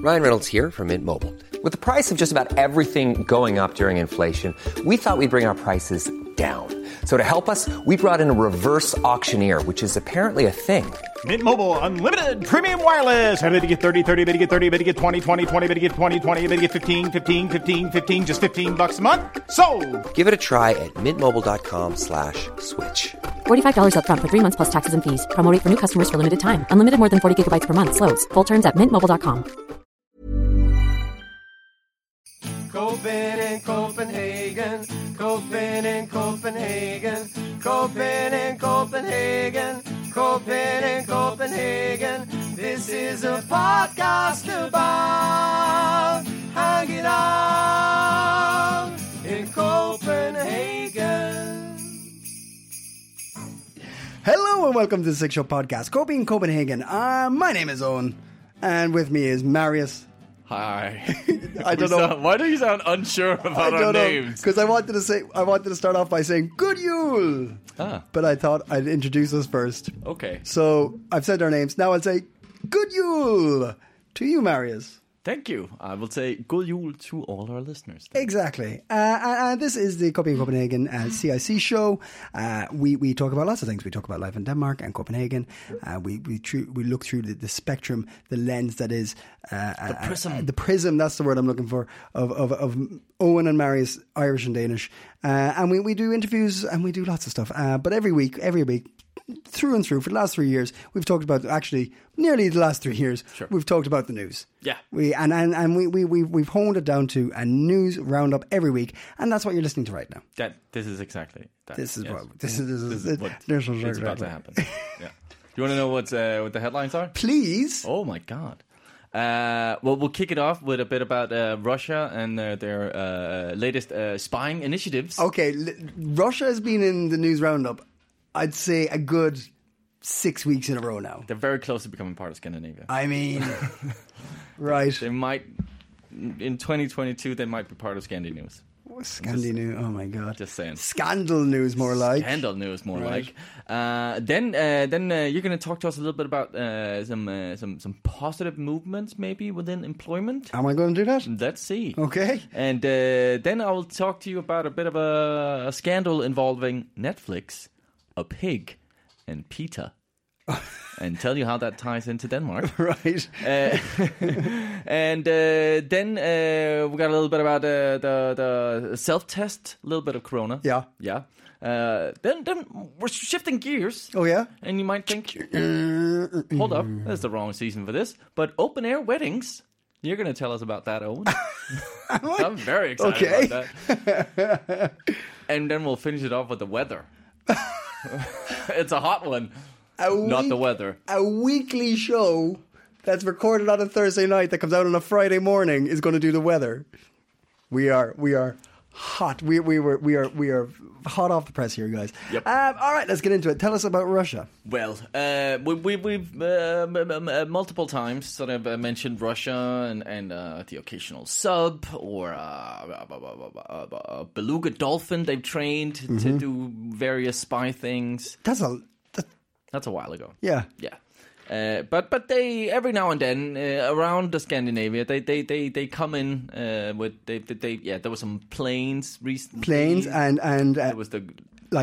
Ryan Reynolds here from Mint Mobile. With the price of just about everything going up during inflation, we thought we'd bring our prices down. So to help us, we brought in a reverse auctioneer, which is apparently a thing. Mint Mobile Unlimited Premium Wireless. How to get 30, 30, bit to get 30, bit to get 20, 20, 20, bit to get 20, 20, bit to get 15, 15, 15, 15, just $15 a month? Sold! Give it a try at mintmobile.com/switch. $45 up front for 3 months plus taxes and fees. Promo rate for new customers for limited time. Unlimited more than 40 gigabytes per month. Slows full terms at mintmobile.com. Copen in Copenhagen, Copen in Copenhagen, Copen in Copenhagen, Copen in Copenhagen. This is a podcast about hanging out in Copenhagen. Hello and welcome to the Six Show Podcast, Copenhagen, in Copenhagen. My name is Owen, and with me is Marius. Hi. I don't know. Why do you sound unsure about our names? Because I wanted to start off by saying good Yule. But I thought I'd introduce us first. Okay. So I've said our names. Now I'll say good Yule to you, Marius. Thank you. I will say good Yule to all our listeners. Exactly. And this is the Copenhagen CIC show. We talk about lots of things. We talk about life in Denmark and Copenhagen. We look through the spectrum, the lens that is the prism. The prism. That's the word I'm looking for of Owen and Marius, Irish and Danish. And we do interviews and we do lots of stuff. But every week. Through and through, for the last 3 years, we've talked about, actually, nearly the last 3 years, sure, we've talked about the news. Yeah. We've honed it down to a news roundup every week, and that's what you're listening to right now. This is exactly that. This is yes. what this is what is about to happen. Yeah. You want to know what the headlines are? Please. Oh my God. Well, we'll kick it off with a bit about Russia and their latest spying initiatives. Okay, Russia has been in the news roundup, I'd say, a good 6 weeks in a row now. They're very close to becoming part of Scandinavia. I mean, right. They might, in 2022, they might be part of Scandi News. Scandi-News, oh my God. Just saying. Scandal news, more like. Scandal news, more right. like. Then you're going to talk to us a little bit about some positive movements, maybe, within employment. Am I going to do that? Let's see. Okay. And then I will talk to you about a bit of a scandal involving Netflix, a pig, and PETA. And tell you how that ties into Denmark. Right. And then we got a little bit about the self-test, a little bit of Corona. Yeah. Yeah. Then we're shifting gears. Oh, yeah? And you might think, hold up, that's the wrong season for this. But open-air weddings, you're going to tell us about that, Owen. I'm very excited about that. And then we'll finish it off with the weather. It's a hot one. Not the weather. A weekly show that's recorded on a Thursday night that comes out on a Friday morning is going to do the weather. We are hot. We are hot off the press here, guys. Yep. All right, let's get into it. Tell us about Russia. Well, we've multiple times sort of mentioned Russia and the occasional sub or a beluga dolphin they've trained to do various spy things. That's a while ago. Yeah. Yeah. But they every now and then around the Scandinavia they come in with there was some planes recently. Planes and there was the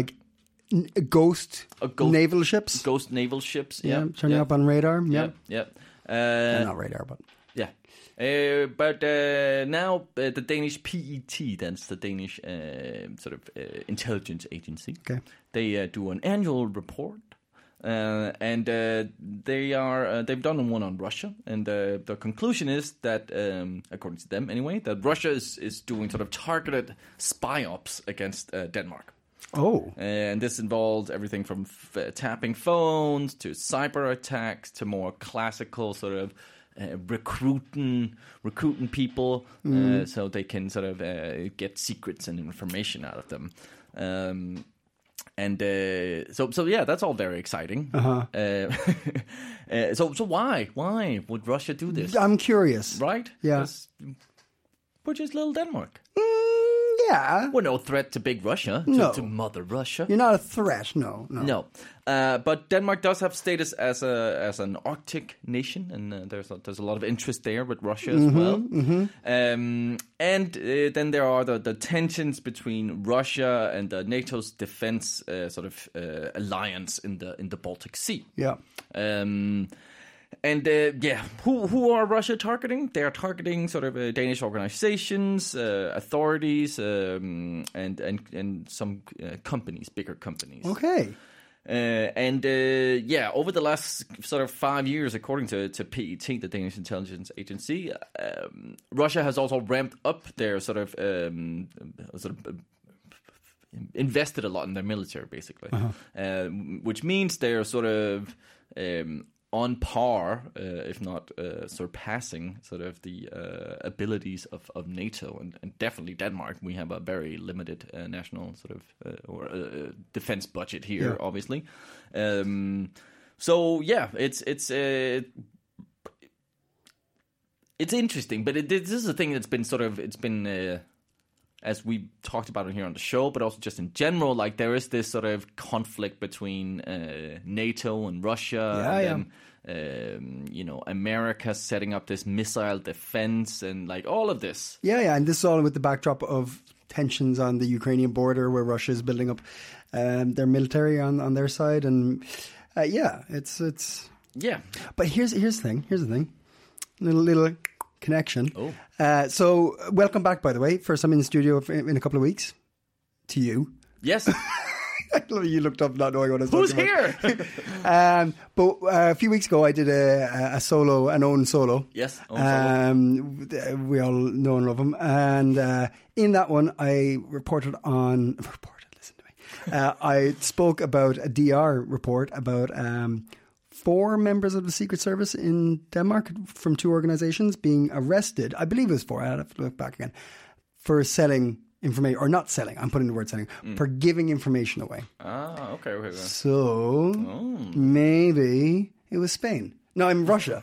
ghost naval ships. Ghost naval ships. Yeah, turning up on radar. Yeah. Not radar, but yeah. But now the Danish PET, that's the Danish intelligence agency. Okay. They do an annual report. And they've done one on Russia, and the conclusion is that, according to them anyway, that Russia is doing sort of targeted spy ops against Denmark. Oh, and this involved everything from tapping phones to cyber attacks to more classical sort of recruiting people, so they can sort of get secrets and information out of them. And so yeah, that's all very exciting. So why would Russia do this? I'm curious. Right? Yeah. which is little Denmark. Yeah. We're no threat to big Russia, No. to Mother Russia. You're not a threat. No. No, but Denmark does have status as an Arctic nation, and there's a lot of interest there with Russia as well. And then there are the tensions between Russia and NATO's defense alliance in the Baltic Sea. Yeah. Who are Russia targeting? They are targeting sort of Danish organizations, authorities, and some companies, bigger companies. Okay. Over the last sort of 5 years, according to PET, the Danish intelligence agency, Russia has also ramped up their invested a lot in their military, basically, which means they're sort of on par, if not surpassing, sort of the abilities of NATO and definitely Denmark. We have a very limited national sort of defense budget here, obviously. It's interesting, but this is a thing that's been as we talked about it here on the show, but also just in general, like there is this sort of conflict between NATO and Russia, America setting up this missile defense and like all of this. And this is all with the backdrop of tensions on the Ukrainian border, where Russia is building up their military on their side, and it's. But here's the thing, little connection. Oh. So welcome back, by the way. First time in the studio in a couple of weeks. To you. Yes. You looked up not knowing what I was Who's talking here? about. But a few weeks ago, I did an own solo. Yes. We all know and love him. And in that one, I listen to me. I spoke about a DR report about 4 members of the Secret Service in Denmark from 2 organizations being arrested. I believe it was 4. I have to look back again. For selling information, or not selling, I'm putting the word selling, for giving information away. Ah, okay. So, maybe it was Spain. No, I'm Russia.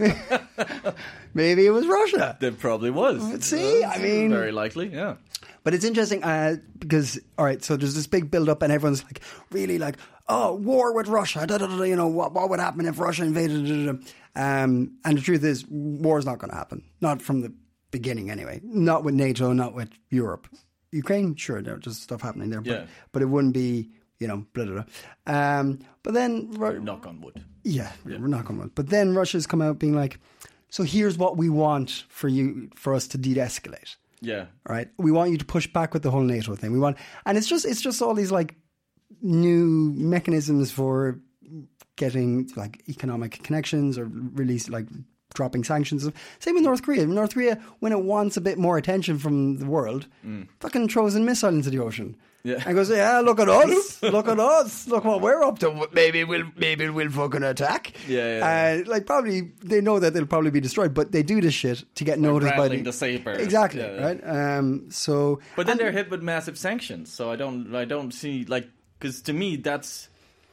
Maybe it was Russia. There probably was. See, I mean... Very likely, yeah. But it's interesting because, all right, so there's this big build-up and everyone's like, really like, oh, war with Russia, what would happen if Russia invaded? And the truth is, war's not going to happen. Not from the beginning anyway. Not with NATO, not with Europe. Ukraine, sure, there's just stuff happening there, but it wouldn't be, blah, blah, blah. But then... Knock on wood. Yeah, we're knock on wood. But then Russia's come out being like, so here's what we want for us to de-escalate. Yeah. Right? We want you to push back with the whole NATO thing. And it's just all these like new mechanisms for getting like economic connections or release, like dropping sanctions. Same with North Korea. North Korea, when it wants a bit more attention from the world, fucking throws a missile into the ocean. Yeah. And goes, yeah, look at us, look what we're up to. Maybe we'll fucking attack. Yeah. Like probably they know that they'll probably be destroyed, but they do this shit to get noticed by the saber. Exactly, right? But then they're hit with massive sanctions, so I don't see like, because to me that's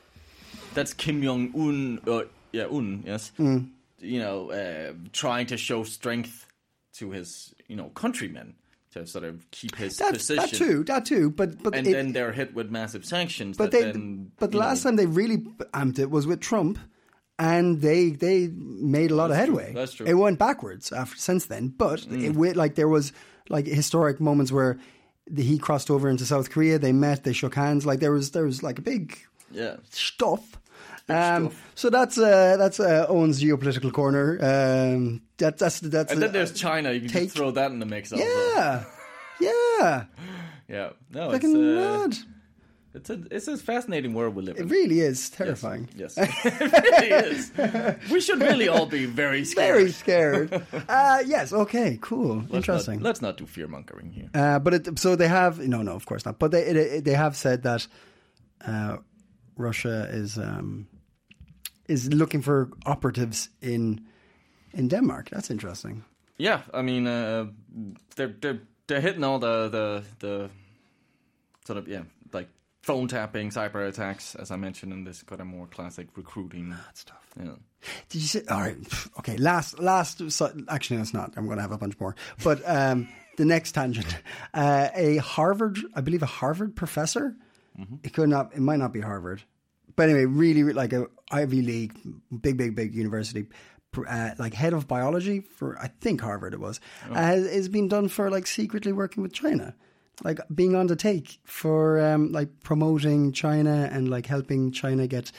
Kim Jong Un. Yes. Trying to show strength to his countrymen. To sort of keep his position. That too. But then they're hit with massive sanctions. But the last time they really amped it was with Trump, and they made a lot of headway. That's true. It went backwards since then, but there was like historic moments where he crossed over into South Korea. They met, they shook hands. Like there was like a big stuff. So that's Owen's geopolitical corner. That's and then there's China. You can just throw that in the mix. Yeah. No, mad. It's a fascinating world we live in. It really is terrifying. Yes. It really is. We should really all be very scared. Very scared. Yes. Okay. Cool. Interesting. Let's not do fear mongering here. So they have no, of course not. But they have said that Russia is looking for operatives in Denmark. That's interesting. Yeah, I mean, they're hitting all the sort of like phone tapping, cyber attacks, as I mentioned, in this kind of more classic recruiting stuff. Yeah. Did you say? All right. Okay. Last. Actually, no, it's not. I'm going to have a bunch more. But the next tangent. I believe a Harvard professor. It might not be Harvard. But anyway, really like a Ivy League, big university, like head of biology for, I think Harvard it was, has been done for like secretly working with China. Like being on the take for like promoting China and like helping China get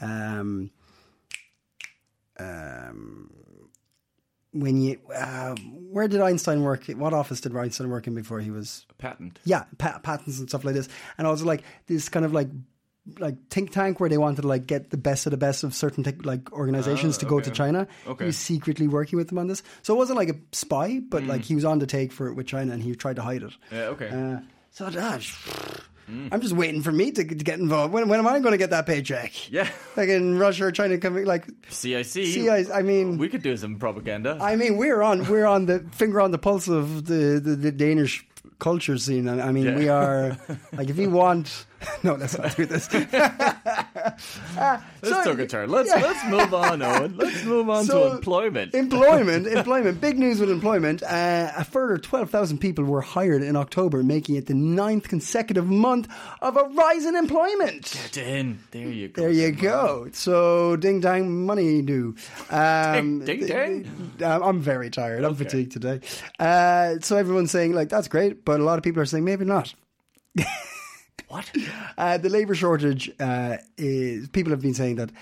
where did Einstein work? What office did Einstein work in before he was patent? Yeah, patents and stuff like this, and also like this kind of like think tank where they wanted to like get the best of certain like organizations to go to China. He was secretly working with them on this, so it wasn't like a spy, but like he was on the take for it with China, and he tried to hide it. So I'm just waiting for me to get involved. When am I going to get that paycheck? Yeah, like in Russia or China, coming like CIC. I mean, we could do some propaganda. I mean, we're on the finger on the pulse of the Danish culture scene. I mean, we are like, if you want. No, let's not do this. This took a turn. Let's move on, Owen. Let's move on to employment. Employment. Big news with employment. A further 12,000 people were hired in October, making it the 9th consecutive month of a rise in employment. Get in. There you go. There you go. So, ding dang, money do. Ding dang. I'm very tired. I'm fatigued today. So everyone's saying like that's great, but a lot of people are saying maybe not. What? The labour shortage is. People have been saying that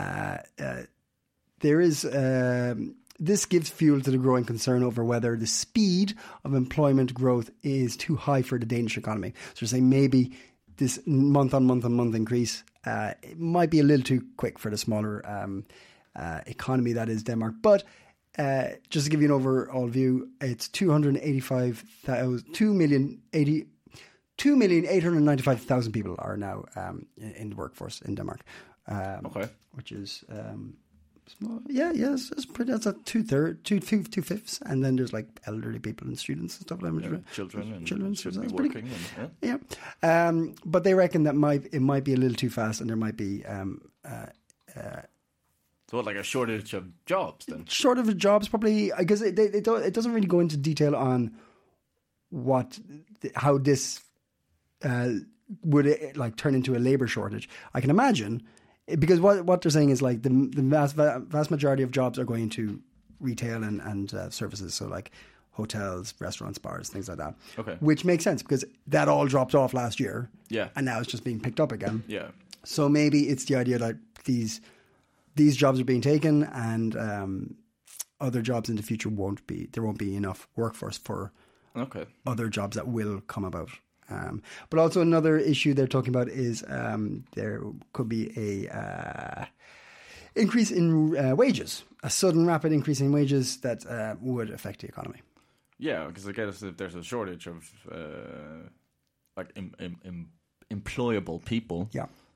there is. This gives fuel to the growing concern over whether the speed of employment growth is too high for the Danish economy. So they're saying maybe this month on month increase it might be a little too quick for the smaller economy that is Denmark. But just to give you an overall view, it's 2,895,000 people are now in the workforce in Denmark. Which is small. Yeah, it's pretty. That's a two fifths, and then there's like elderly people and students and stuff like that. Children should be working. But they reckon that it might be a little too fast, and there might be. So, like a shortage of jobs, then? Shortage of jobs, probably, because it doesn't really go into detail on how this would it like turn into a labor shortage. I can imagine, because what they're saying is like the vast majority of jobs are going into retail and services, so like hotels, restaurants, bars, things like that. Okay, which makes sense because that all dropped off last year. Yeah, and now it's just being picked up again. Yeah, so maybe it's the idea that these jobs are being taken, and other jobs in the future there won't be enough workforce for other jobs that will come about. But also another issue they're talking about is there could be a increase in wages, a sudden rapid increase in wages that would affect the economy. Yeah, because I guess if there's a shortage of like employable people,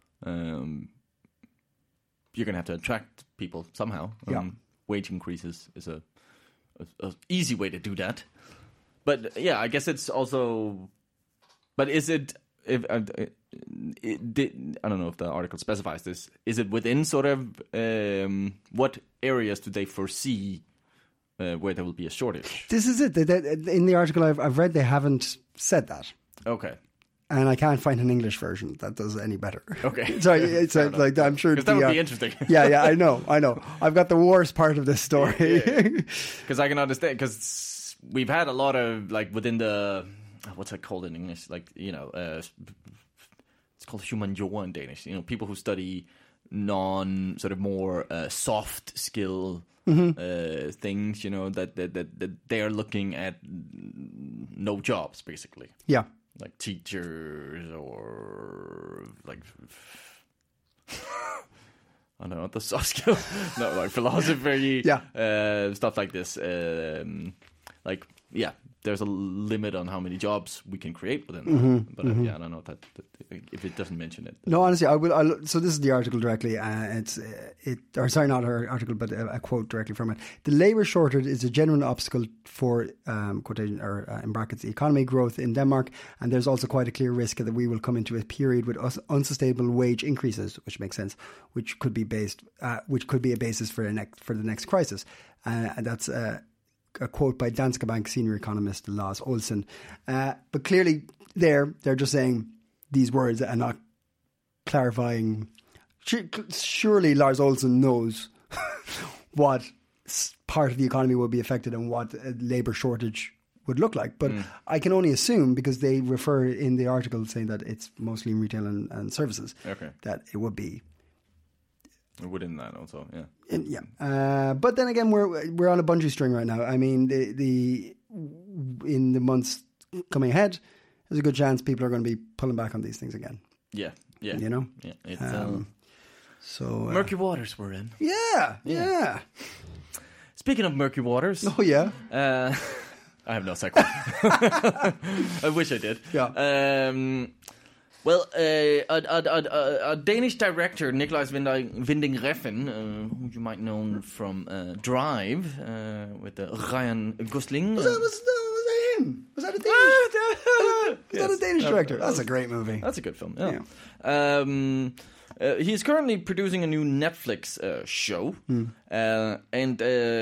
you're going to have to attract people somehow. Wage increases is a easy way to do that. But yeah, I guess it's also. But is it? I don't know if the article specifies this. Is it within sort of what areas do they foresee where there will be a shortage? This is it. In the article I've read, they haven't said that. Okay. And I can't find an English version that does any better. Okay. Sorry, it's like I'm sure because that would be interesting. yeah, I know. I've got the worst part of this story. Because I can understand. Because we've had a lot of like within the what's it called in English? Like it's called humaniora in Danish. People who study sort of more soft skill things. That they are looking at no jobs basically. Yeah. Like teachers or like I don't know the soft skill, no, like philosophy, stuff like this. There's a limit on how many jobs we can create within that. But I don't know that if it doesn't mention it. No, honestly, I will. So this is the article directly. Not our article, but a quote directly from it. The labour shortage is a genuine obstacle for quotation or in brackets the economy growth in Denmark, and there's also quite a clear risk that we will come into a period with unsustainable wage increases, which makes sense, which could be a basis for the next crisis, and that's. a quote by Danske Bank senior economist Lars Olsen. But clearly they're just saying these words and not clarifying. Surely Lars Olsen knows what part of the economy will be affected and what a labour shortage would look like. But I can only assume, because they refer in the article saying that it's mostly in retail and services, that it would be within that also, yeah. But then again, we're on a bungee string right now. I mean, the in the months coming ahead, there's a good chance people are going to be pulling back on these things again. Yeah. You know? Yeah. It's, so murky waters we're in. Yeah. Speaking of murky waters. Oh, yeah. I have no segue. I wish I did. Yeah. Well, a Danish director, Nikolaj Winding Refn, who you might know from Drive, with Ryan Gosling. Was that him? Was that a Danish? Was that a Danish director? That's a great movie. That's a good film. Yeah. He's currently producing a new Netflix show, and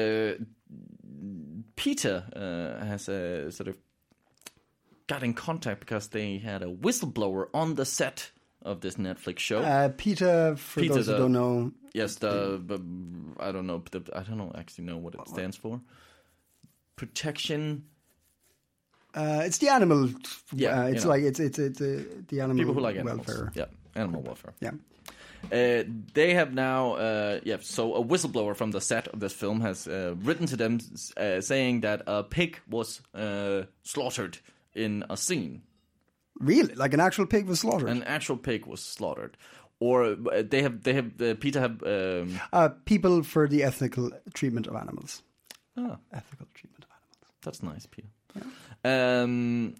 Peter has sort of got in contact because they had a whistleblower on the set of this Netflix show. Peter, for those who don't know. Yes, I don't know. I don't actually know what it stands for. Protection. It's the animal. Yeah, it's like it's the animal people who like animals. welfare. Yeah, animal welfare. Yeah. They have now, so a whistleblower from the set of this film has written to them saying that a pig was slaughtered in a scene. Really? Like an actual pig was slaughtered? An actual pig was slaughtered. Or Peter have... people for the ethical treatment of animals. Ethical treatment of animals. That's nice, Peter. Yeah.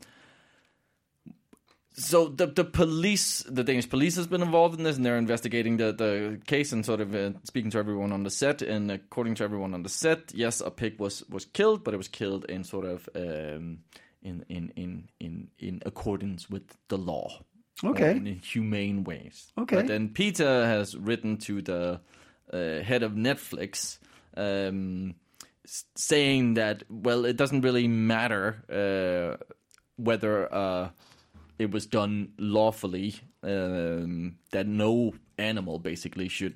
So the police, the Danish police has been involved in this, and they're investigating the case and sort of speaking to everyone on the set. And according to everyone on the set, yes, a pig was killed, but it was killed in sort of in accordance with the law. Okay. In humane ways. Okay. But then Peter has written to the head of Netflix, saying that, well, it doesn't really matter whether it was done lawfully, that no animal basically should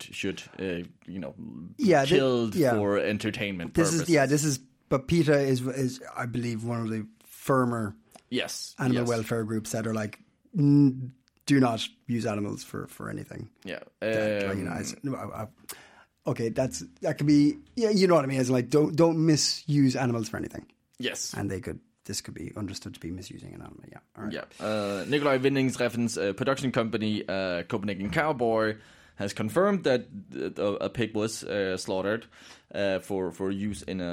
killed for entertainment purposes. But PETA is I believe one of the firmer animal welfare groups that are like, do not use animals for anything. Yeah. Okay, that could be, you know what I mean. It's like don't misuse animals for anything. Yes, and this could be understood to be misusing an animal. Yeah. All right. Yeah. Nikolaj Winding Refn's production company, Copenhagen Cowboy, has confirmed that a pig was slaughtered for use in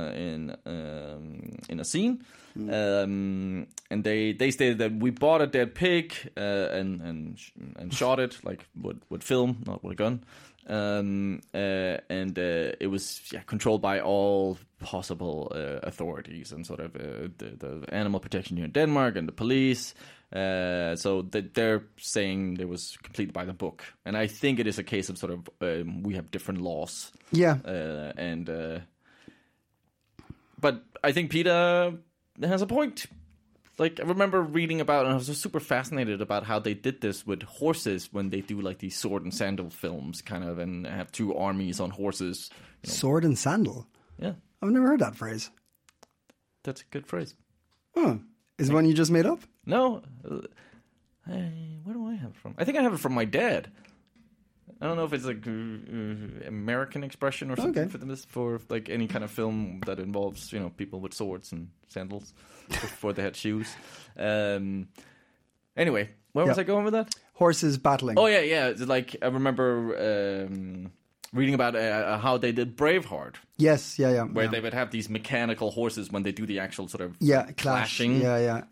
a scene. And they stated that we bought a dead pig and shot it like with film, not with a gun. And it was controlled by all possible authorities and sort of the animal protection here in Denmark and the police. So they're saying it was completed by the book, and I think it is a case of sort of we have different laws. Yeah. But I think Peter has a point. Like, I remember reading about, and I was just super fascinated about how they did this with horses when they do like these sword and sandal films, kind of, and have two armies on horses. Sword and sandal? Yeah. I've never heard that phrase. That's a good phrase. Huh. Is it one you just made up? No. Where do I have it from? I think I have it from my dad. I don't know if it's like American expression or something for like any kind of film that involves people with swords and sandals before they had shoes. Anyway, where was I going with that? Horses battling. Oh yeah. Like I remember reading about how they did Braveheart. Yes, yeah. Where they would have these mechanical horses when they do the actual sort of clashing. Yeah.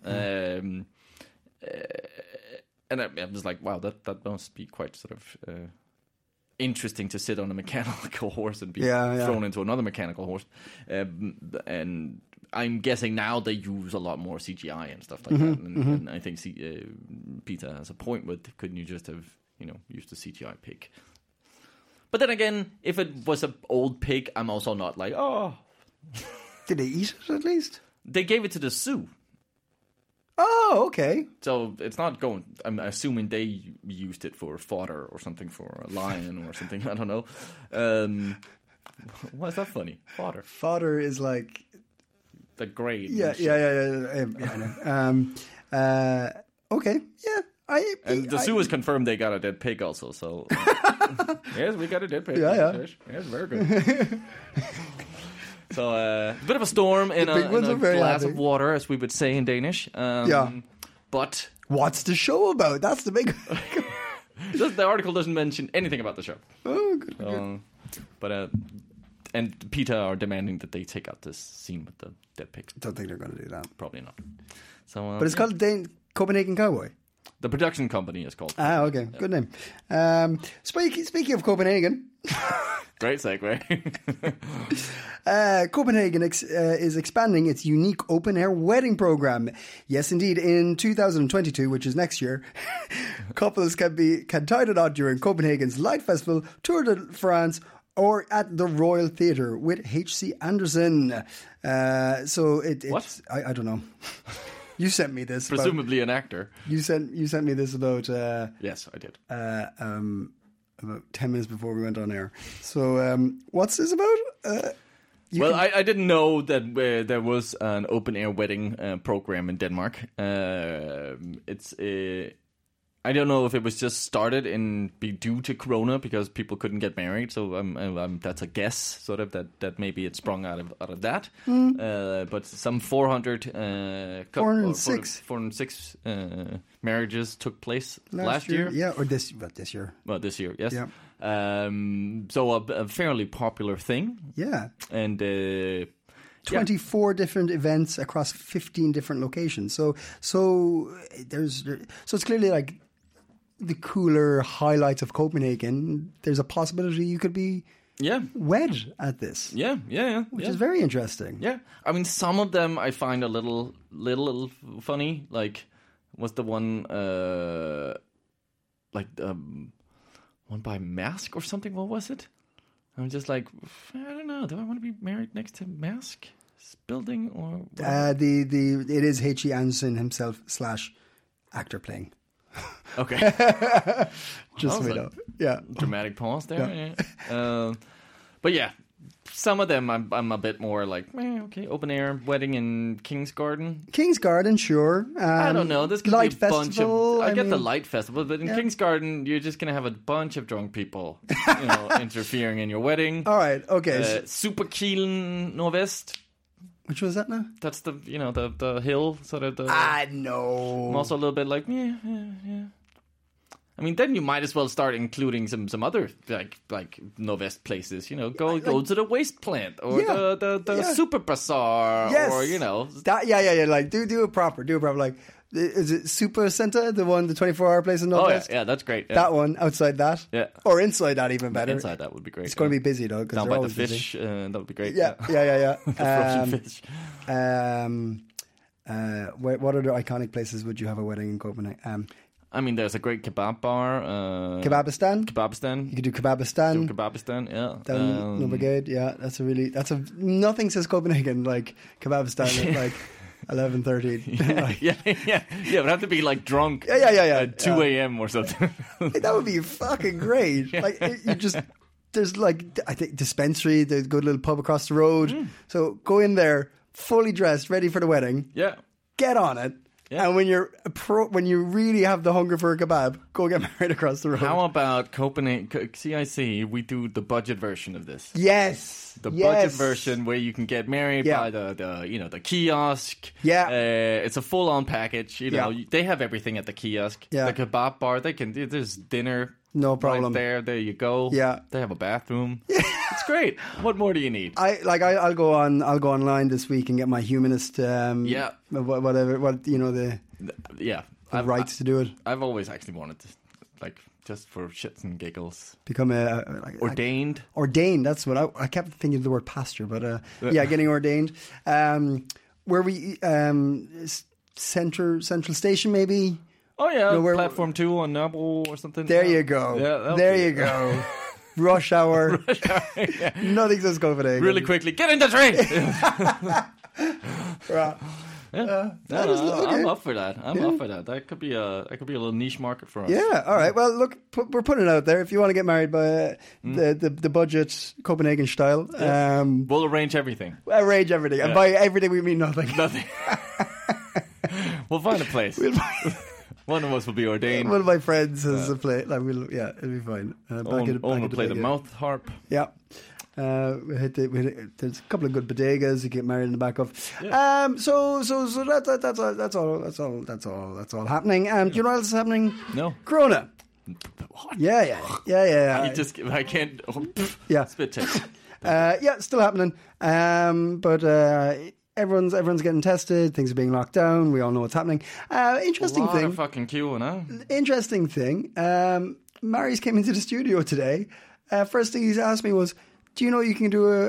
And I was like, wow, that must be quite sort of interesting to sit on a mechanical horse and be thrown into another mechanical horse. And I'm guessing now they use a lot more CGI and stuff like that. And I think Peter has a point with, couldn't you just have, used a CGI pig? But then again, if it was an old pig, I'm also not like, oh. Did they eat it at least? They gave it to the zoo. Oh, okay. So it's not going. I'm assuming they used it for fodder or something for a lion or something. I don't know. Why is that funny? Fodder. Fodder is like The grade. yeah. I know. Okay, yeah. And the zoo has confirmed they got a dead pig also. So yes, we got a dead pig. Yeah. Yes, very good. So a bit of a storm in big ones a are very glass happy. of water, as we would say in Danish. Yeah. But What's the show about? That's the big. the article doesn't mention anything about the show. Oh, good. But and PETA are demanding that they take out this scene with the dead pig. Don't think they're going to do that. Probably not. So, But it's called Copenhagen Cowboy. the production company is called. Ah, okay, good name. Speaking of Copenhagen. Great segue. Copenhagen is expanding its unique open-air wedding program. Yes, indeed. In 2022, which is next year, couples can tie the knot during Copenhagen's Light Festival, Tour de France, or at the Royal Theatre with H.C. Andersen. What? I don't know. You sent me this. Presumably an actor. You sent me this about. Yes, I did. About 10 minutes before we went on air. So, what's this about? I didn't know that there was an open-air wedding program in Denmark. I don't know if it was just started due to Corona because people couldn't get married. So that's a guess, sort of that maybe it sprung out of that. But some 406 marriages took place last year. Yeah, or this year. Well, this year, yes. Yeah. So a fairly popular thing. Yeah. And 24 different events across 15 different locations. So it's clearly like the cooler highlights of Copenhagen. There's a possibility you could be wed at this. Yeah. Which is very interesting. Yeah. I mean, some of them I find a little funny. Like, what's the one, one by Mask or something? What was it? I'm just like, I don't know. Do I want to be married next to Mask building or? It is H.E. Andersen himself / actor playing. Okay. Just so we know. Yeah. Dramatic pause there. Yeah. But yeah, some of them I'm a bit more like, okay, open air wedding in King's Garden. King's Garden, sure. I don't know. This could Light be a bunch Festival, of. I get the Light Festival, but in King's Garden, you're just gonna have a bunch of drunk people, interfering in your wedding. All right. Okay. Superkilen Nordvest. Which was that now? That's the the hill sort of the. No. I'm also a little bit like yeah. I mean, then you might as well start including some other like Nordvest places. Go to the waste plant or the Super Bazaar or that. Yeah. Like do it proper. Like, is it Super Center, the 24-hour place in Nordvest? Oh yeah, that's great. Yeah. That one outside that, or inside that, even better. Inside that would be great. It's going to be busy though, because down by the fish. That would be great. Yeah. The frozen fish. What other iconic places would you have a wedding in Copenhagen? I mean, there's a great kebab bar. Kebabistan. Kebabistan. You could do Kebabistan. Kebabistan, yeah. Down Nordbrigade, yeah. Nothing says Copenhagen like Kebabistan at like 11:30. Like, yeah. It would have to be like drunk. Yeah. At 2 a.m. or something. That would be fucking great. Like there's like, I think Dispensary, the good little pub across the road. So go in there, fully dressed, ready for the wedding. Yeah. Get on it. Yeah. And when you really have the hunger for a kebab, go get married across the road. How about Copenhagen CIC? We do the budget version of this. Yes. The budget version where you can get married by the kiosk. Yeah. It's a full on package. They have everything at the kiosk. Yeah. The kebab bar. There's dinner. No problem. Right there you go. Yeah. They have a bathroom. It's great. What more do you need? I'll go online this week and get my humanist the rights to do it. I've always actually wanted to, like, just for shits and giggles, become ordained. Ordained. That's what I kept thinking of the word pastor, but getting ordained. Where we Central Station maybe. Oh yeah, Platform 2 on Nørrebro or something. There you go. Yeah, there you go. rush hour. Nothing says Copenhagen. Really quickly, get in the train. Right. I'm up for that. I'm up for that. That could be a little niche market for us. Yeah, all right. Well, look, we're putting it out there. If you want to get married by the budget Copenhagen style, We'll arrange everything. arrange everything. And by everything, we mean nothing. Nothing. We'll find a place. One of us will be ordained. One of my friends has a play. Like, it'll be fine. Owen will play the mouth harp. Yeah. There's a couple of good bodegas you get married in the back of. Yeah. So that's all happening. Do you know what else is happening? No. Corona. What? Yeah. I can't. Yeah. Spit take. Still happening. But everyone's getting tested. Things are being locked down. We all know what's happening. Interesting A lot thing. of fucking queuing, huh? Interesting thing. Marius came into the studio today. First thing he asked me was, "Do you know you can do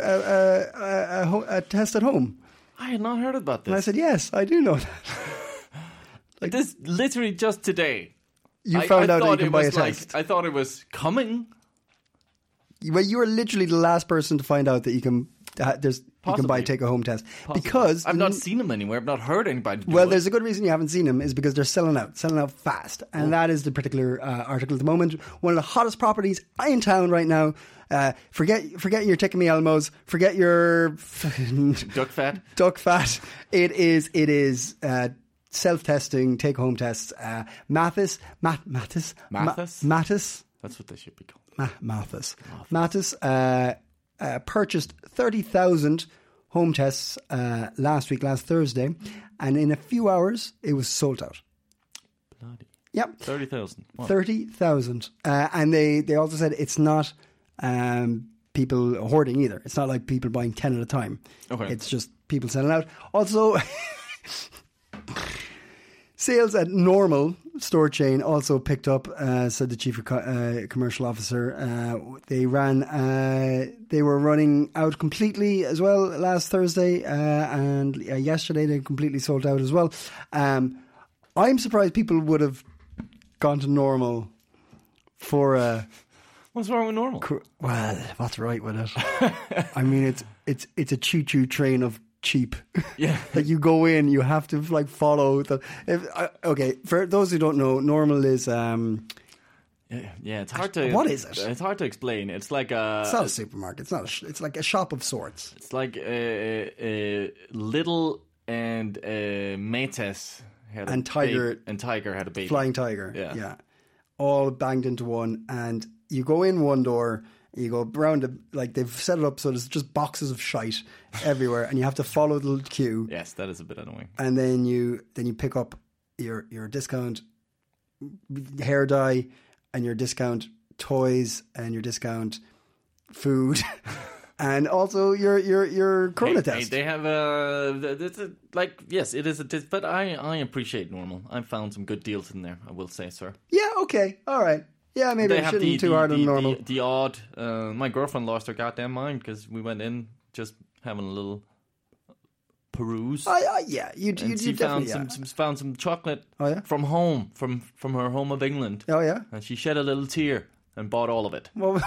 a test at home?" I had not heard about this. And I said, "Yes, I do know that." Like this, literally just today. You found out that you can buy a like, test. I thought it was coming. Well, you are literally the last person to find out that you can. You can buy Possibly. take a home test Possibly. because I've not seen them anywhere. I've not heard anybody do Well, it. there's a good reason you haven't seen them is because they're selling out fast, and that is the particular article at the moment. One of the hottest properties in town right now. Forget your Take Me Elmos. Forget your duck fat. duck fat. It is self-testing, take-home tests. Mathis. Mathis? That's what they should be called. Mathis purchased 30,000 home tests last Thursday, and in a few hours it was sold out. Bloody. Yep. 30,000. Wow. 30,000. And they also said it's not people hoarding either. It's not like people buying 10 at a time. Okay. It's just people selling out. Also, sales at Normal store chain also picked up, said the chief commercial officer. They were running out completely as well last Thursday, and yesterday they completely sold out as well. I'm surprised people would have gone to Normal for a. What's wrong with Normal? Well, what's right with it? I mean, it's a choo-choo train of cheap. Yeah. That you go in, you have to like follow the. Okay, for those who don't know, Normal is. Yeah, it's hard to. What is it? It's hard to explain. It's like a. It's not a supermarket. It's not. It's like a shop of sorts. It's like Little and Mates had And Tiger- and Tiger had a baby. Flying Tiger. Yeah. All banged into one, and you go in one door. You go around, like they've set it up so there's just boxes of shite everywhere, and you have to follow the queue. Yes, that is a bit annoying. And then you pick up your discount hair dye and your discount toys and your discount food, and also your corona test. They have yes, it is a but I appreciate Normal. I found some good deals in there. I will say, sir. Yeah. Okay. All right. Yeah, maybe They I have shouldn't be too hard on Normal. The odd. My girlfriend lost her goddamn mind because we went in just having a little peruse. Yeah, you and she definitely found some chocolate from home, from her home of England. Oh yeah, and she shed a little tear and bought all of it. Well,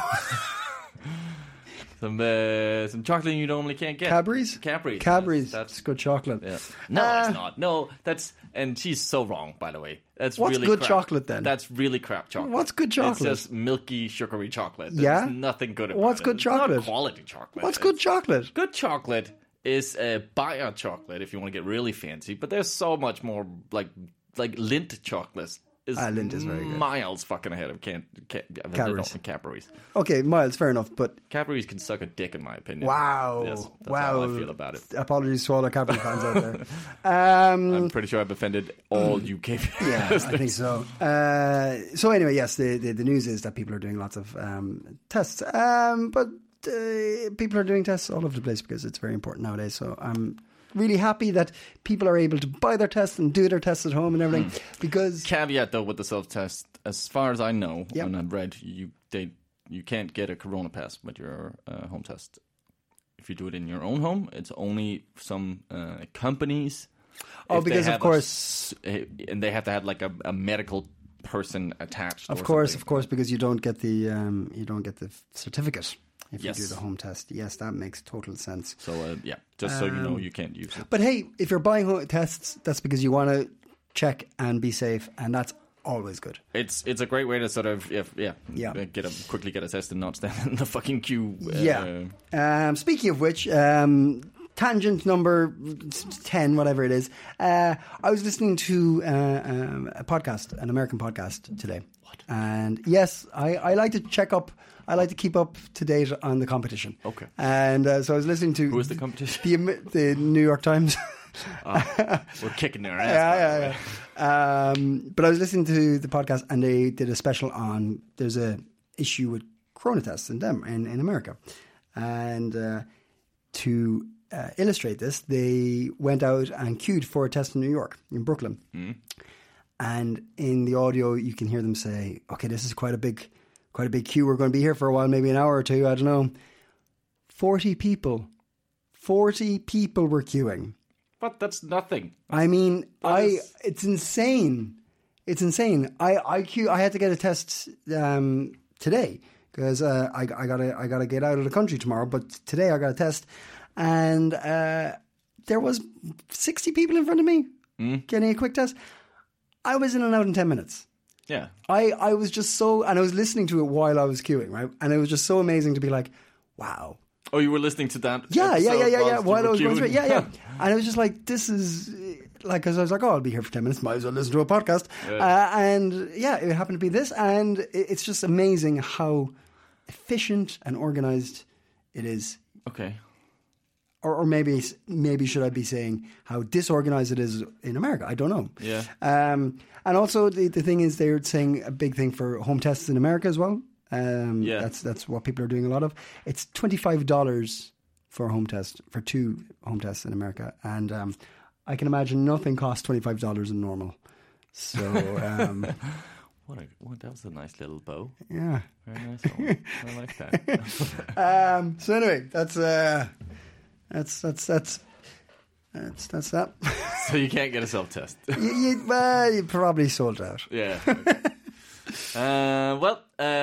some chocolate you normally can't get. Cadbury's. That's good chocolate. Yeah. No, it's not. No, and she's so wrong. By the way, that's what's really good crap. chocolate then? That's really crap chocolate. What's good chocolate? It's just milky, sugary chocolate. Yeah? There's nothing good about What's it. good chocolate? It's not quality chocolate. What's good chocolate? Good chocolate is bio chocolate if you want to get really fancy, but there's so much more like Lindt chocolate. Lindt is very good. Miles fucking ahead of Cadbury's. Okay, Miles, fair enough, but Cadbury's can suck a dick in my opinion. Wow. Yes, that's wow. how I feel about it. Apologies to all our Cadbury fans out there. I'm pretty sure I've offended all UK people. Yeah, I think so. So anyway, yes, the news is that people are doing lots of tests, but people are doing tests all over the place because it's very important nowadays. So I'm really happy that people are able to buy their tests and do their tests at home and everything. Because caveat though with the self-test, as far as I know, and I've read, you can't get a corona pass with your home test. If you do it in your own home, it's only some companies. Oh, because of course, and they have to have like a medical person attached. Of or course, something. because you don't get the certificate if Yes. you do the home test. Yes, that makes total sense. So just so you know, you can't use it. But hey, if you're buying home tests, that's because you want to check and be safe, and that's always good. It's a great way to sort of quickly get a test and not stand in the fucking queue. Speaking of which, tangent number 10, whatever it is. I was listening to a podcast, an American podcast today. What? And yes, I like to check up. I like to keep up to date on the competition. Okay. And so I was listening to... Who is the competition? The New York Times. We're kicking their ass. Yeah. But I was listening to the podcast, and they did a special on... There's a issue with corona tests in America. And to illustrate this, they went out and queued for a test in New York, in Brooklyn. Mm. And in the audio, you can hear them say, okay, this is quite a big queue. We're going to be here for a while, maybe an hour or two, I don't know. 40 people were queuing. But that's nothing. I mean, it's insane. It's insane. I had to get a test today because I gotta get out of the country tomorrow. But today I got a test, and there was 60 people in front of me getting a quick test. I was in and out in 10 minutes. Yeah. I was just so, and I was listening to it while I was queuing, right? And it was just so amazing to be like, wow. Oh, you were listening to that? Yeah. While I was going through it, yeah. And I was just like, this is like, because I was like, oh, I'll be here for 10 minutes. Might as well listen to a podcast. And yeah, it happened to be this, and it's just amazing how efficient and organized it is. Okay. Or maybe should I be saying how disorganized it is in America? I don't know. Yeah. And also the thing is, they're saying a big thing for home tests in America as well. That's what people are doing a lot of. It's $25 for a home test, for 2 home tests in America, and I can imagine nothing costs $25 in normal. So that was a nice little bow. Yeah, very nice one. I like that. So anyway, that's that. So you can't get a self-test. you probably sold out. Yeah. Okay.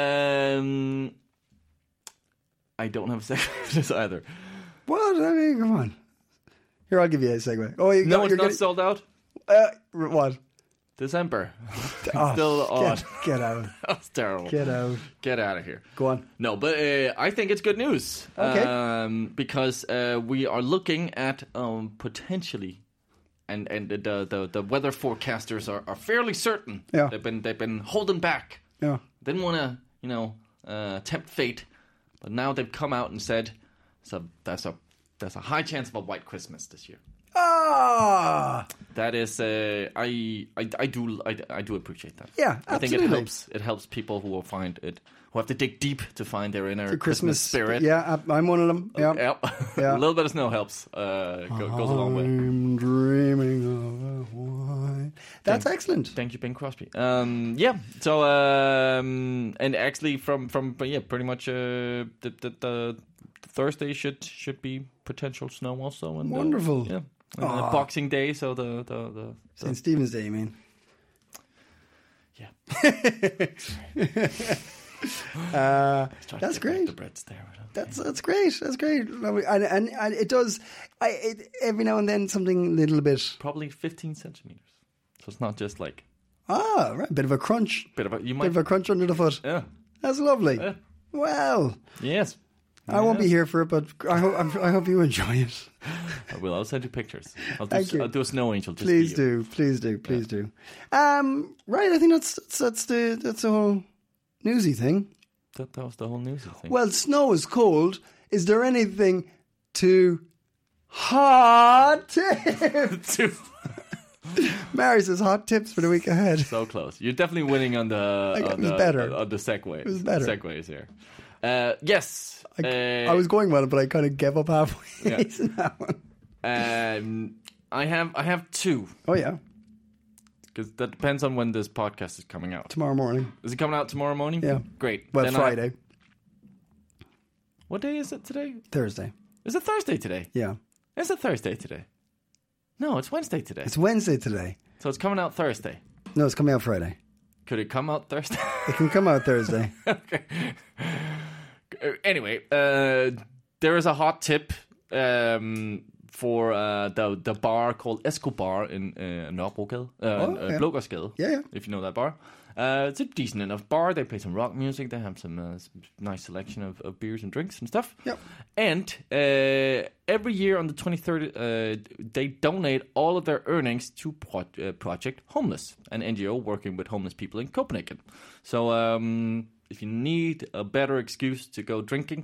I don't have a segue for this either. What? I mean, come on. Here, I'll give you a segue. Oh, it's not sold out? What? December. Oh, still on. Get out. That's terrible. Get out. Get out of here. Go on. No, but I think it's good news. Okay. Because we are looking at potentially, and the weather forecasters are fairly certain. Yeah. They've been holding back. Yeah. Didn't want to tempt fate, but now they've come out and said, so there's a high chance of a white Christmas this year. Ah, that is, I do appreciate that. Yeah, absolutely. I think it helps people who have to dig deep to find their inner Christmas spirit. Yeah, I'm one of them. Yeah, yeah. A little bit of snow helps. Goes a long way. I'm dreaming of a white. That's excellent. Thank you, Bing Crosby. Yeah. So and actually from pretty much the Thursday should be potential snow also. And, wonderful. Yeah. Boxing Day, so the St. Stephen's Day, you mean? Yeah. That's great. The bread's there. That's great. That's great. And it does. Every now and then something a little bit. Probably 15 centimeters. So it's not just like. Right. Bit of a crunch. Bit of a crunch under the foot. Yeah. That's lovely. Yeah. Well. Yes. I won't be here for it, but I hope you enjoy it. I will. I'll send you pictures. I'll do a snow angel. Please do. Right. I think that's the whole newsy thing. That was the whole newsy thing. Well, snow is cold. Is there anything to hot tips? Mary says hot tips for the week ahead. So close. You're definitely winning on the segues. It was better. Segues here. Yes. I was going well, but I kind of gave up halfway. Yeah. That one. I have 2. Oh yeah. Because that depends on when this podcast is coming out. Tomorrow morning. Is it coming out tomorrow morning? Yeah. Great. Well, then Friday. What day is it today? Thursday. Is it Thursday today? Yeah. Is it Thursday today? No, it's Wednesday today. It's Wednesday today. So it's coming out Thursday. No, it's coming out Friday. Could it come out Thursday? It can come out Thursday. Okay. Anyway, there is a hot tip for the bar called Escobar in Nørrebrogade, Blågårdsgade. Yeah. If you know that bar. It's a decent enough bar. They play some rock music. They have some nice selection of beers and drinks and stuff. Yep. And every year on the 23rd, they donate all of their earnings to Project Homeless, an NGO working with homeless people in Copenhagen. So if you need a better excuse to go drinking,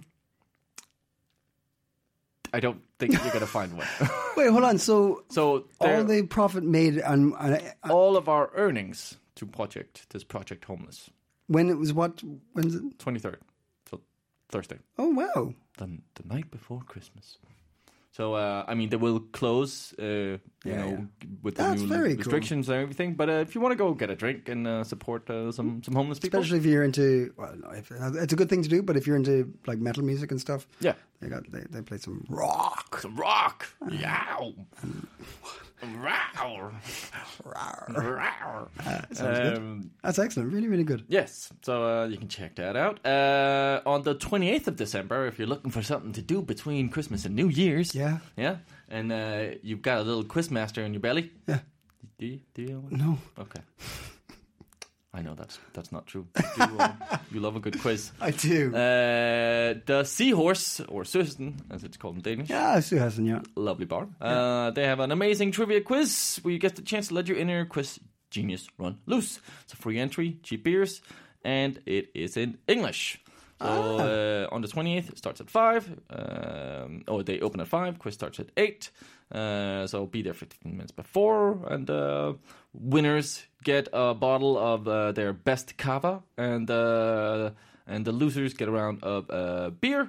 I don't think you're going to find one. Wait, hold on. So there- all the profit made on all of our earnings to this Project Homeless. when it was what? When's it? 23rd, so Thursday, Oh wow. the night before Christmas. So they will close, with the That's new very cool. restrictions and everything. But if you want to go get a drink and support some homeless people, Especially if you're into, well, no, it's a good thing to do. But if you're into like metal music and stuff, yeah, they play some rock. some rock, yow, row, row. Sounds good. That's excellent. Really, really good. Yes, so you can check that out. On the 28th of December, if you're looking for something to do between Christmas and New Year's. Yeah. And you've got a little quizmaster in your belly. Yeah. Do you? No. Okay. I know that's not true. You love a good quiz. I do. The Seahorse, or Søsten, as it's called in Danish. Yeah, Sue Hassan, yeah. Lovely bar. They have an amazing trivia quiz where you get the chance to let your inner quiz genius run loose. It's a free entry, cheap beers, and it is in English. So on the 28th, it starts at 5. They open at 5. Quiz starts at 8. So be there 15 minutes before. And winners get a bottle of their best cava. And the losers get a round of beer.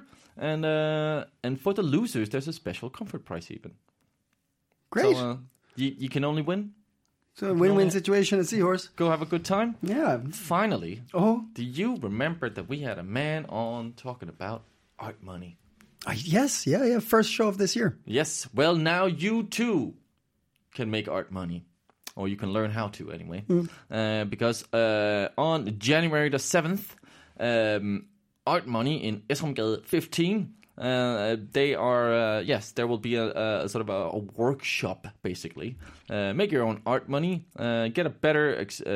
And for the losers, there's a special comfort prize even. Great. So you can only win. So a win-win situation at Seahorse. Go have a good time. Yeah. Finally, Oh. do you remember that we had a man on talking about art money? Yes. Yeah. First show of this year. Yes. Well, now you too can make art money. Or you can learn how to anyway. Because on January the 7th, Art Money in Esrumgade 15, they are, there will be a sort of a workshop, basically. Make your own art money. Get better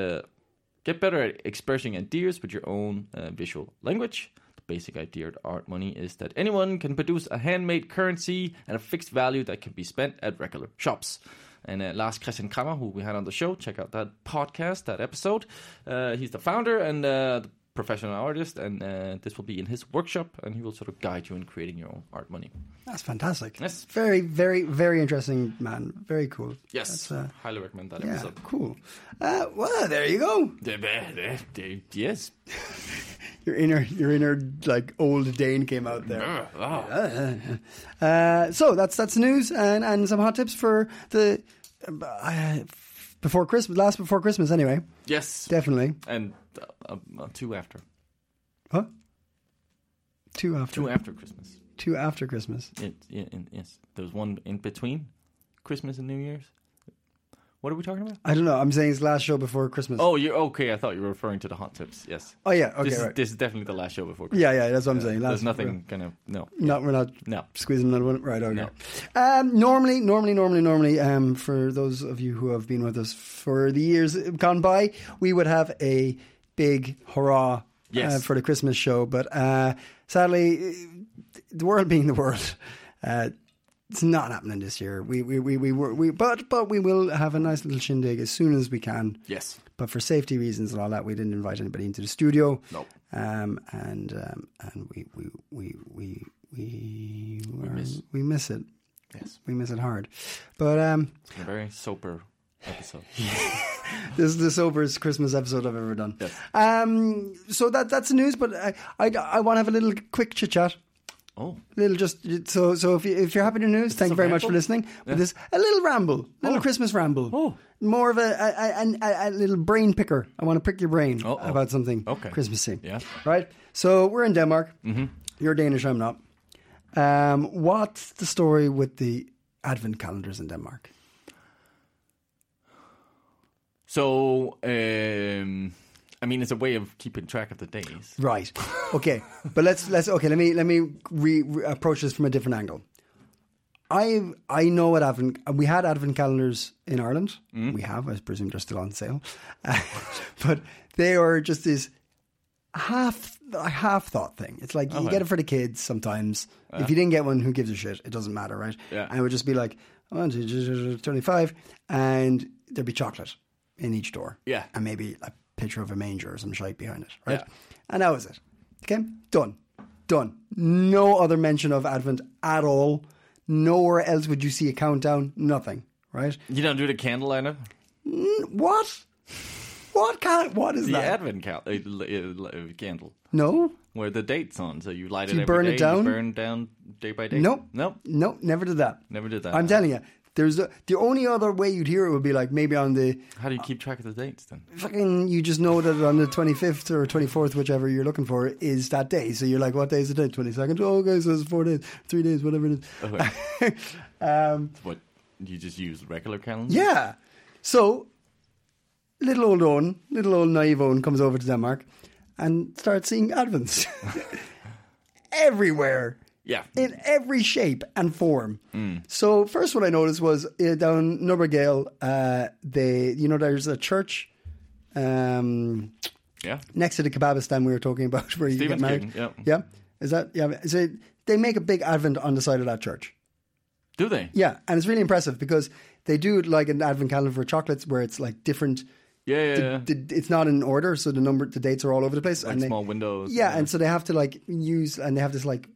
at expressing ideas with your own visual language. The basic idea of Art Money is that anyone can produce a handmade currency at a fixed value that can be spent at regular shops. And Lars Christian Krammer, who we had on the show, check out that podcast, that episode. He's the founder and the professional artist, and this will be in his workshop, and he will sort of guide you in creating your own art money. That's fantastic. Yes. Very, very, very interesting, man. Very cool. Yes, That's, highly recommend that yeah, episode. cool. Well, there you go. Yes. Your inner like old Dane came out there. So that's news and some hot tips for the before Christmas, before Christmas anyway. Yes, Definitely. and 2 after. Huh? 2 after. 2 after Christmas. 2 after Christmas. Yes, there's one in between Christmas and New Year's. What are we talking about? I don't know. I'm saying it's last show before Christmas. Oh, you're okay. I thought you were referring to the hot tips. Yes. Oh yeah. Okay. Right. This is definitely the last show before Christmas. Yeah. That's what I'm saying. There's nothing no. We're not No. squeezing another one. Right, okay. No. Normally, for those of you who have been with us for the years gone by, we would have a big hurrah for the Christmas show. But sadly, the world being the world, it's not happening this year. But we will have a nice little shindig as soon as we can. Yes. But for safety reasons and all that, we didn't invite anybody into the studio. No. And we miss it. Yes. We miss it hard. But It's been a very sober episode. this is the soberest Christmas episode I've ever done. Yes. So that's the news. But I want to have a little quick chit chat. Oh. Little just so if you're happy to news, thank you very much for listening. But this a little ramble, Christmas ramble. Oh. More of a little brain picker. I want to pick your brain about something Christmassy. Yeah. Right. So we're in Denmark. Mm-hmm. You're Danish. I'm not. What's the story with the advent calendars in Denmark? So I mean, it's a way of keeping track of the days. Right. Okay. But let's okay. Let me approach this from a different angle. I know what we had Advent calendars in Ireland. We have, I presume, they're still on sale, but they are just this half thought thing. It's like you get it for the kids sometimes. If you didn't get one, who gives a shit? It doesn't matter, right? Yeah. And it would just be like 25, and there'd be chocolate in each door. Yeah. And maybe a picture of a manger or some shite behind it, right? Yeah. And that was it. Okay, done. No other mention of Advent at all. Nowhere else would you see a countdown. Nothing, right? You don't do the candle lineup? What? What is The that? Advent candle. No, Where the date's on, so you light So it you every burn day, it down? you burn down day by day? Nope. Nope. Never did that. Never did that. I'm telling you, the only other way you'd hear it would be like maybe on the How do you keep track of the dates then? fucking. You just know that on the 25th or 24th, whichever you're looking for, is that day. So you're like, what day is the day? 22nd. Oh, okay, so it's 4 days, 3 days, whatever it is. Okay. What? You just use regular calendar? Yeah. So little old naive Owen comes over to Denmark and starts seeing Advents everywhere. Yeah. In every shape and form. So first what I noticed was down Nubbergale, there's a church Yeah. next to the kebabistan we were talking about where you get married. Stevensgate, Yeah. Is that, yeah. So they make a big Advent on the side of that church. Do they? Yeah. And it's really impressive because they do it like an Advent calendar for chocolates where it's like different. Yeah. It's not in order. So the dates are all over the place. Like and small windows. Yeah. And so they have to like use, and they have this what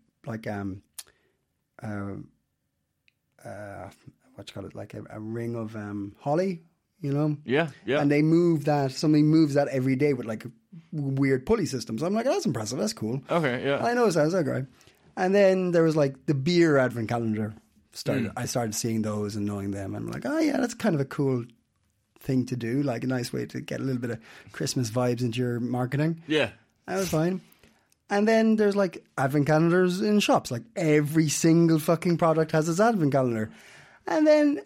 you call it, like a ring of holly, you know? Yeah. And they move that. Somebody moves that every day with like weird pulley systems. I'm like, that's impressive. That's cool. Okay, yeah. I know that was okay. And then there was like the beer Advent calendar. I started seeing those and knowing them, and I'm like, oh yeah, that's kind of a cool thing to do. Like a nice way to get a little bit of Christmas vibes into your marketing. Yeah. That was fine. And then there's like Advent calendars in shops. Like every single fucking product has its Advent calendar. And then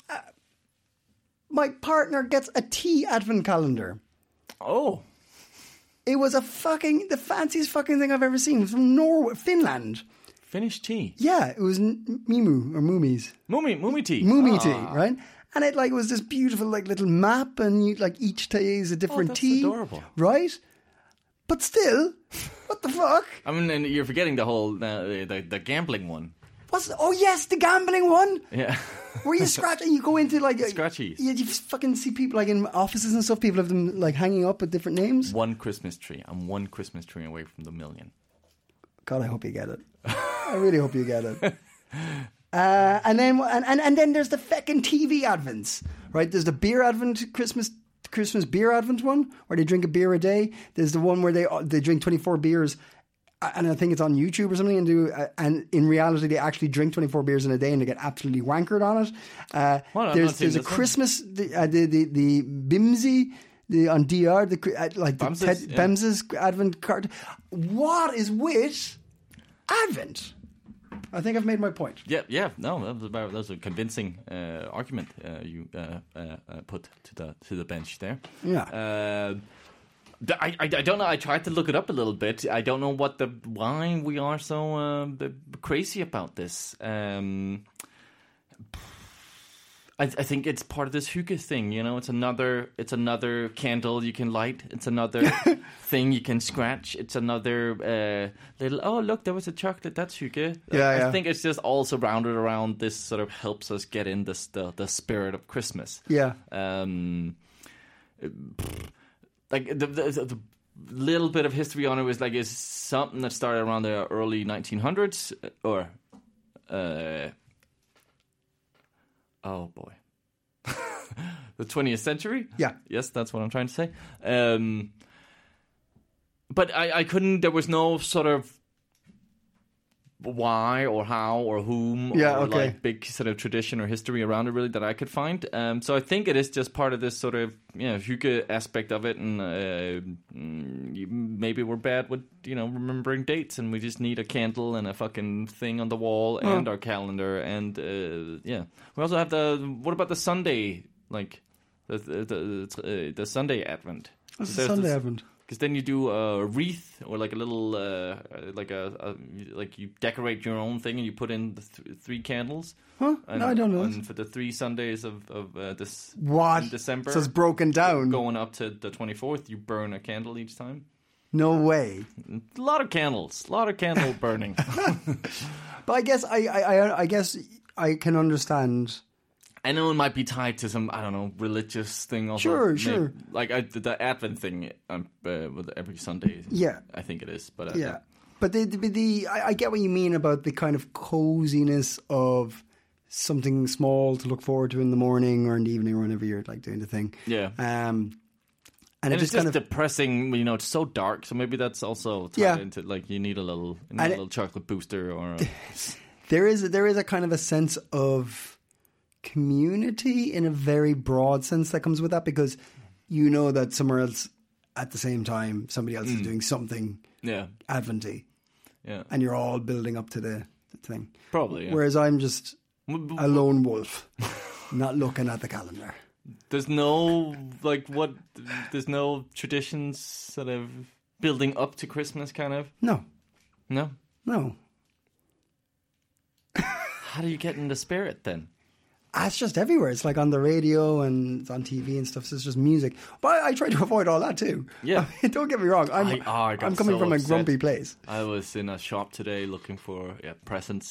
my partner gets a tea Advent calendar. Oh. It was the fanciest fucking thing I've ever seen. It was from Norway, Finland. Finnish tea. Yeah, it was Mimu or Moomies. Moomy tea. Moomy tea, right? And it like was this beautiful like little map, and you like each tea is a different that's tea. adorable. Right? But still, what the fuck? I mean, and you're forgetting the whole the gambling one. Oh yes, the gambling one. Yeah. Where you scratch and you go into like Scratchies. You fucking see people like in offices and stuff. People have them like hanging up with different names. One Christmas tree. I'm one Christmas tree away from the million. God, I hope you get it. I really hope you get it. And then there's the fucking TV Advents, right? There's the beer Advent Christmas beer Advent one where they drink a beer a day. There's the one where they drink 24 beers, and I think it's on YouTube or something. And in reality, they actually drink 24 beers in a day and they get absolutely wankered on it. There's a Christmas the Bimsy. On DR, Bems's Advent card. What is with Advent? I think I've made my point. Yeah. No, that was a convincing argument you put to the bench there. Yeah. I don't know. I tried to look it up a little bit. I don't know why we are so crazy about this. I think it's part of this hygge thing, you know. It's another candle you can light. It's another thing you can scratch. It's another little. Oh, look, there was a chocolate. That's hygge. I think it's just all surrounded around this. Sort of helps us get in the spirit of Christmas. Yeah. Like the little bit of history on it was like is something that started around the early 1900s or. Oh boy, the 20th century. Yeah, yes, that's what I'm trying to say. But I couldn't. There was no sort of why or how or whom or like big sort of tradition or history around it really that I could find. So I think it is just part of this sort of hygge aspect of it, and maybe we're bad with remembering dates, and we just need a candle and a fucking thing on the wall and our calendar, and we also have what about the Sunday, like the Sunday Advent? What's the Sunday Advent? Because then you do a wreath or like a little, like you decorate your own thing and you put in the 3 candles. Huh? And, No, I don't know. And for the 3 Sundays of this What? in December, So it's broken down. going up to the 24th, you burn a candle each time. No way. A lot of candle burning. But I guess I guess I can understand. I know it might be tied to some, I don't know, religious thing. Also. Sure. Like the Advent thing with every Sunday. Yeah. I think it is. But Yeah. But I get what you mean about the kind of coziness of something small to look forward to in the morning or in the evening or whenever you're like doing the thing. Yeah. And it it's just kind just of depressing, it's so dark. So maybe that's also tied into like you need a little chocolate booster or. there is a kind of a sense of community in a very broad sense that comes with that, because you know that somewhere else at the same time somebody else is doing something Adventy. Yeah. And you're all building up to the thing. Probably. Yeah. Whereas I'm just a lone wolf, not looking at the calendar. There's no there's no traditions sort of building up to Christmas kind of? No. No? How do you get in the spirit then? It's just everywhere. It's like on the radio and it's on TV and stuff. So it's just music. But I try to avoid all that too. Yeah. Don't get me wrong. I'm coming from a grumpy place. I was in a shop today looking for presents.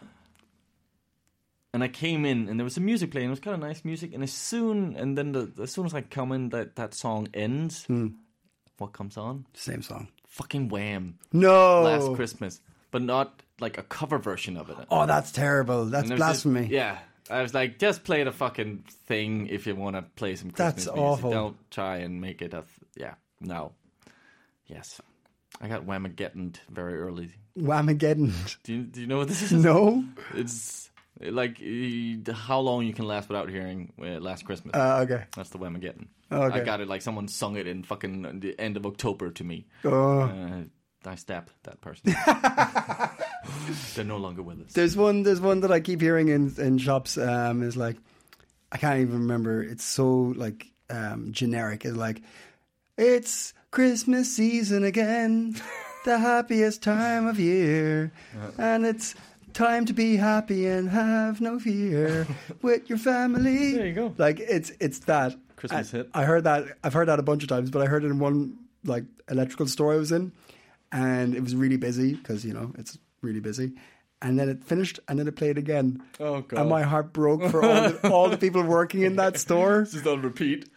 And I came in and there was a music playing. It was kind of nice music. And as soon as I come in, that song ends. What comes on? Same song. Fucking Wham. No. Last Christmas. But not like a cover version of it. Oh, that's terrible. That's blasphemy. I was like, just play the fucking thing if you want to play some Christmas That's music. awful. Don't try and make it no. Yes. I got Whamageddon very early. Whamageddon. Do you know what this is? No. It's like how long you can last without hearing Last Christmas. Okay. That's the Whamageddon. Okay. I got it like someone sung it in fucking the end of October to me. I stabbed that person. They're no longer with us. There's one that I keep hearing in shops. Is like, I can't even remember. It's so like generic. It's like, it's Christmas season again, the happiest time of year, and it's time to be happy and have no fear with your family. There you go. Like it's that Christmas hit. I've heard that a bunch of times, but I heard it in one like electrical store I was in, and it was really busy because it's really busy. And then it finished, and then it played again. Oh god! And my heart broke for all the people working in that store. This is on repeat.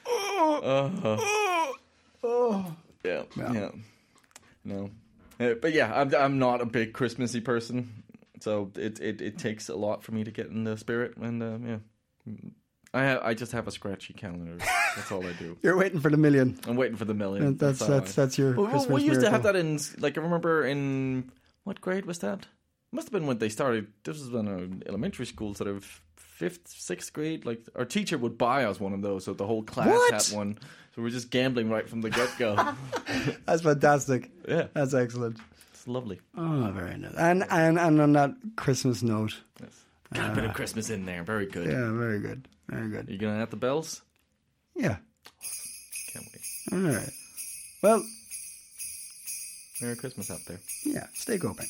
Yeah. No, but yeah, I'm not a big Christmassy person, so it takes a lot for me to get in the spirit. And I just have a scratchy calendar. That's all I do. You're waiting for the million. I'm waiting for the million. That's your Christmas we used to have miracle. that in, like, I remember in, what grade was that? Must have been when they started. This was in elementary school, sort of 5th, 6th grade. Like, our teacher would buy us one of those, so the whole class had one. So we're just gambling right from the get-go. That's fantastic. Yeah. That's excellent. It's lovely. Oh, very nice. And on that Christmas note. Yes. Got a bit of Christmas in there. Very good. Yeah, very good. Very good. Are you going to have the bells? Yeah. Can't wait. All right. Well, Merry Christmas out there. yeah, stay coping.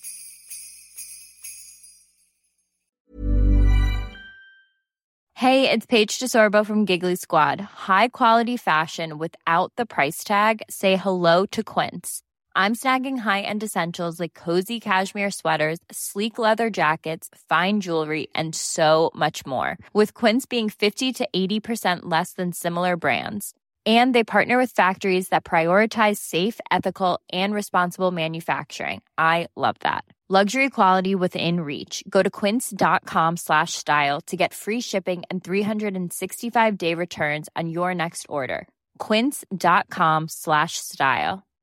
Hey, it's Paige DeSorbo from Giggly Squad. High quality fashion without the price tag. Say hello to Quince. I'm snagging high-end essentials like cozy cashmere sweaters, sleek leather jackets, fine jewelry, and so much more. With Quince being 50 to 80% less than similar brands. And they partner with factories that prioritize safe, ethical, and responsible manufacturing. I love that. Luxury quality within reach. Go to quince.com/style to get free shipping and 365-day returns on your next order. Quince.com/style.